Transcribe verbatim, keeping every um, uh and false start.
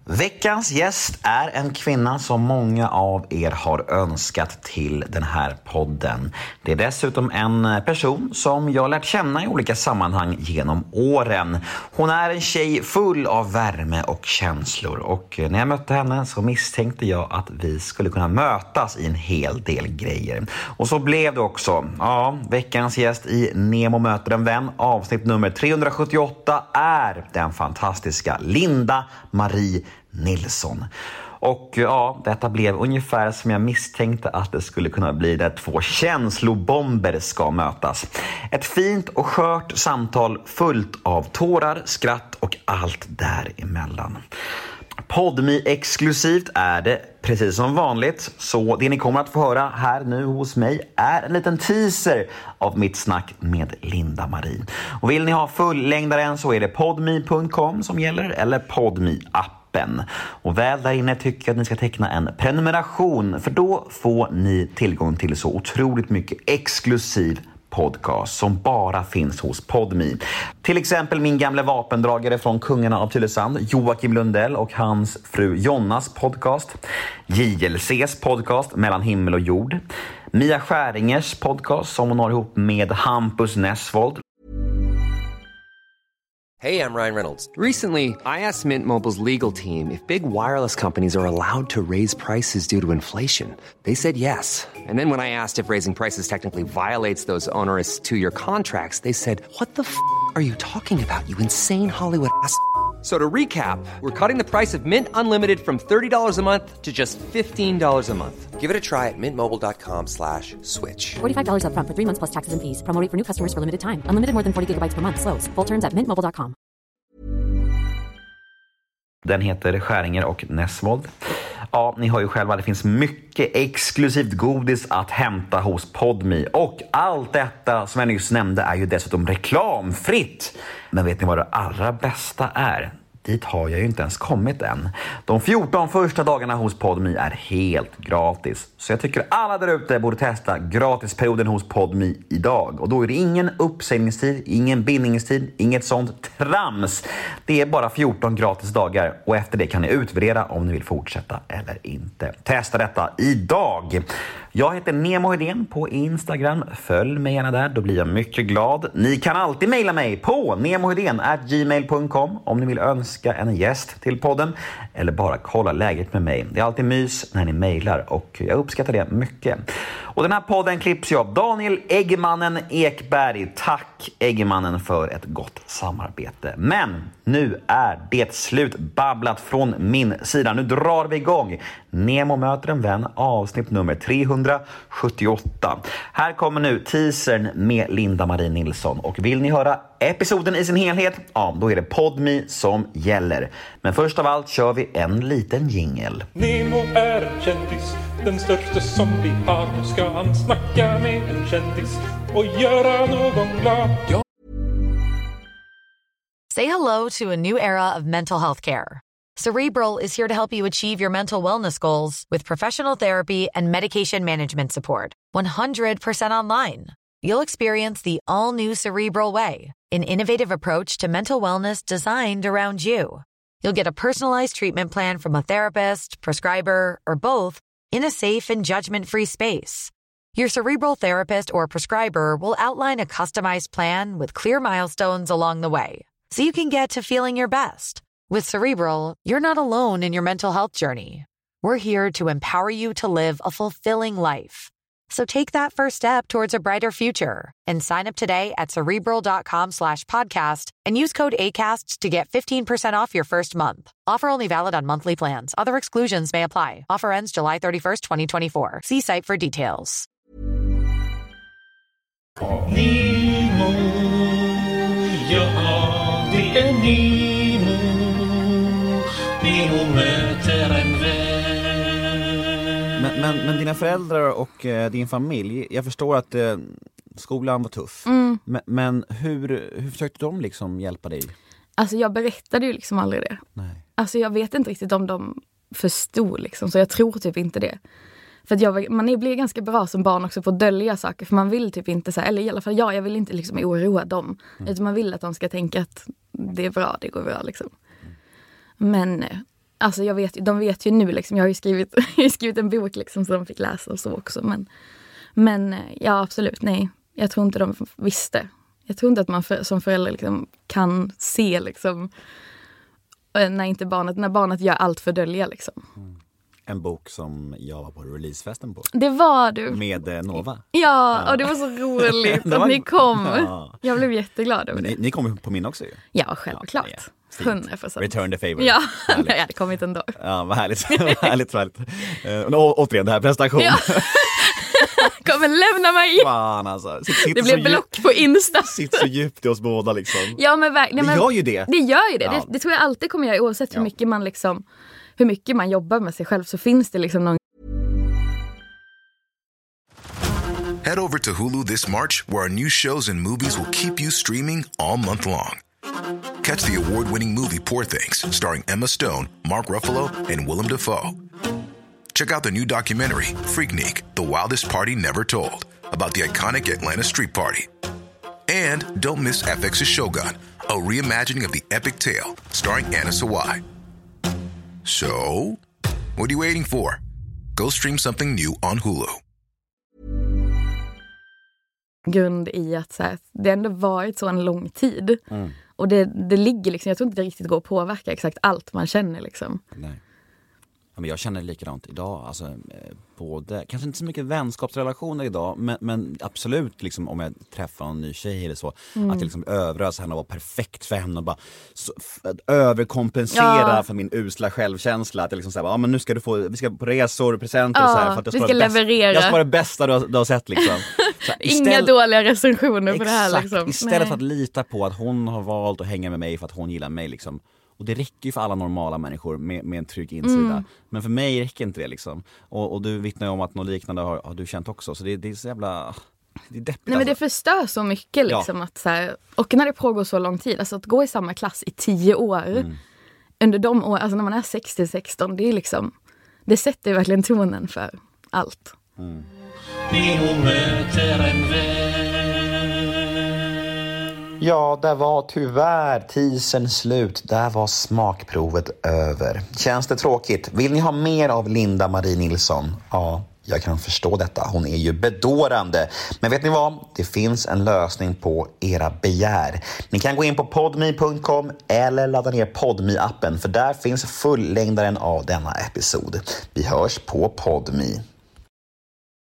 Veckans gäst är en kvinna som många av er har önskat till den här podden. Det är dessutom en person som jag lärt känna i olika sammanhang genom åren. Hon är en tjej full av värme och känslor, och när jag mötte henne så misstänkte jag att vi skulle kunna mötas i en hel del grejer. Och så blev det också. Ja, veckans gäst i Nemo möter en vän, avsnitt nummer trehundrasjuttioåtta, är den fantastiska Linda Marie Nilsson. Och ja, detta blev ungefär som jag misstänkte att det skulle kunna bli, där två känslobomber ska mötas. Ett fint och skört samtal fullt av tårar, skratt och allt däremellan. Podmi exklusivt är det, precis som vanligt, så det ni kommer att få höra här nu hos mig är en liten teaser av mitt snack med Linda Marie. Och vill ni ha fullängdaren så är det podmi punkt com som gäller, eller Podmi-appen. Och väl där inne tycker jag att ni ska teckna en prenumeration, för då får ni tillgång till så otroligt mycket exklusiv podcast som bara finns hos Podmi. Till exempel min gamla vapendragare från Kungarna av Tylösand, Joakim Lundell, och hans fru Jonnas podcast. J L C:s podcast Mellan himmel och jord. Mia Skäringers podcast som hon har ihop med Hampus Nessvold. Hey, I'm Ryan Reynolds. Recently, I asked Mint Mobile's legal team if big wireless companies are allowed to raise prices due to inflation. They said yes. And then when I asked if raising prices technically violates those onerous two-year contracts, they said, what the f*** are you talking about, you insane Hollywood ass f- So to recap, we're cutting the price of Mint Unlimited from thirty dollars a month to just fifteen dollars a month. Give it a try at mintmobile.com slash switch. forty-five dollars up front for three months plus taxes and fees. Promo rate for new customers for limited time. Unlimited more than forty gigabytes per month. Slows full terms at mint mobile dot com. Den heter Skäringer och Nessvold. Ja, ni hör ju själva, det finns mycket exklusivt godis att hämta hos Podmi. Och allt detta som jag nyss nämnde är ju dessutom reklamfritt. Men vet ni vad det allra bästa är? Dit har jag ju inte ens kommit än. De fjorton första dagarna hos Podmi är helt gratis. Så jag tycker alla där ute borde testa gratisperioden hos Podmi idag. Och då är det ingen uppsägningstid, ingen bindningstid, inget sånt trams. Det är bara fjorton gratis dagar. Och efter det kan ni utvärdera om ni vill fortsätta eller inte. Testa detta idag. Jag heter Nemo Hedén på Instagram. Följ mig gärna där, då blir jag mycket glad. Ni kan alltid mejla mig på nemohedén at gmail punkt com om ni vill önska en gäst till podden eller bara kolla läget med mig. Det är alltid mys när ni mejlar och jag uppskattar det mycket. Och den här podden klipps ju av Daniel Eggemannen Ekberg. Tack Eggemannen för ett gott samarbete. Men nu är det slut babblat från min sida. Nu drar vi igång. Nemo möter en vän, avsnitt nummer trehundrasjuttioåtta. Här kommer nu teasern med Linda Marie Nilsson. Och vill ni höra episoden i sin helhet, ja, då är det Podmi som gäller. Men först av allt kör vi en liten jingle. Nemo är en kändis, den största som vi har. Nu ska han snacka med en kändis och göra någon glad. Ja. Say hello to a new era of mental health care. Cerebral is here to help you achieve your mental wellness goals with professional therapy and medication management support. one hundred percent online. You'll experience the all-new Cerebral Way, an innovative approach to mental wellness designed around you. You'll get a personalized treatment plan from a therapist, prescriber, or both in a safe and judgment-free space. Your Cerebral therapist or prescriber will outline a customized plan with clear milestones along the way, so you can get to feeling your best. With Cerebral, you're not alone in your mental health journey. We're here to empower you to live a fulfilling life. So take that first step towards a brighter future and sign up today at Cerebral.com slash podcast and use code ACAST to get fifteen percent off your first month. Offer only valid on monthly plans. Other exclusions may apply. Offer ends July thirty-first, twenty twenty-four. See site for details. Nemo, ja, det är Nemo. Nemo möter en vän. Men, men, men dina föräldrar och eh, din familj, jag förstår att eh, skolan var tuff. Mm. Men, men hur, hur försökte de liksom hjälpa dig? Alltså jag berättade ju liksom aldrig det. Nej. Alltså jag vet inte riktigt om de förstod liksom, så jag tror typ inte det. För att jag, man blir ganska bra som barn också på att dölja saker. För man vill typ inte så här, eller i alla fall jag, jag vill inte liksom oroa dem. Mm. Utan man vill att de ska tänka att det är bra, det går bra liksom. Mm. Men alltså jag vet, de vet ju nu liksom, jag har ju skrivit, jag har ju skrivit en bok liksom som de fick läsa och så också. Men, men ja, absolut, nej. Jag tror inte de visste. Jag tror inte att man för, som förälder liksom kan se liksom, när inte barnet, när barnet gör allt för dölja liksom. Mm. En bok som jag var på releasefesten på. Det var du. Med eh, Nova. Ja, ja, och det var så roligt att var... ni kom. Ja. Jag blev jätteglad över det. Ni, ni kom på min också ju. Ja, självklart. Ja, ja. hundra procent. Return the favor. Ja, jag hade kommit ändå. Ja, vad härligt. härligt, härligt. Uh, å, återigen, det här prestation. Ja. Kommer lämna mig. Fan alltså. Sitt, det blev block på Insta. Sitter så djupt i oss båda liksom. Ja, men verkligen. Det gör ju det. Det gör ju det. Ja. Det, det tror jag alltid kommer göra, oavsett hur ja. mycket man liksom, hur mycket man jobbar med sig själv, så finns det liksom någon. Head over to Hulu this March, where our new shows and movies will keep you streaming all month long. Catch the award-winning movie Poor Things, starring Emma Stone, Mark Ruffalo, and Willem Dafoe. Check out the new documentary, Freaknik, The Wildest Party Never Told, about the iconic Atlanta Street Party. And don't miss F X's Shogun, a reimagining of the epic tale, starring Anna Sawai. So, what are you waiting for? Go stream something new on Hulu. Grund i att så här, det ändå varit så en lång tid. Mm. Och det, det ligger liksom, jag tror inte det riktigt går att påverka exakt allt man känner liksom. Nej. Ja, men jag känner likadant idag. Alltså, eh, både, kanske inte så mycket vänskapsrelationer idag, men, men absolut liksom, om jag träffar en ny tjej eller så, mm. att jag liksom överösa henne och vara perfekt för henne och bara så, f- överkompensera ja. för min usla självkänsla. Att jag liksom säger, ja men nu ska du få, vi ska på resor, presenter ja, och så här. För att jag vi ska leverera. Bäst, jag ska vara det bästa du har, du har sett liksom. Här, istället, Inga dåliga recensioner på exakt, det här liksom. Istället Nej. för att lita på att hon har valt att hänga med mig för att hon gillar mig liksom. Och det räcker ju för alla normala människor med, med en trygg insida. Mm. Men för mig räcker inte det liksom. Och, och du vittnar ju om att något liknande har, har du känt också. Så det, det är så jävla... Det är deppigt. Nej, men det förstör så mycket liksom. Ja. Att så här, och när det pågår så lång tid. Alltså att gå i samma klass i tio år. Mm. Under de år, alltså när man är sextio sexton. Det är liksom... Det sätter ju verkligen tonen för allt. Mm. Ja, där var tyvärr tisen slut. Där var smakprovet över. Känns det tråkigt? Vill ni ha mer av Linda Marie Nilsson? Ja, jag kan förstå detta. Hon är ju bedårande. Men vet ni vad? Det finns en lösning på era begär. Ni kan gå in på podme punkt com eller ladda ner Podme-appen. För där finns fullängdaren av denna episod. Vi hörs på Podme.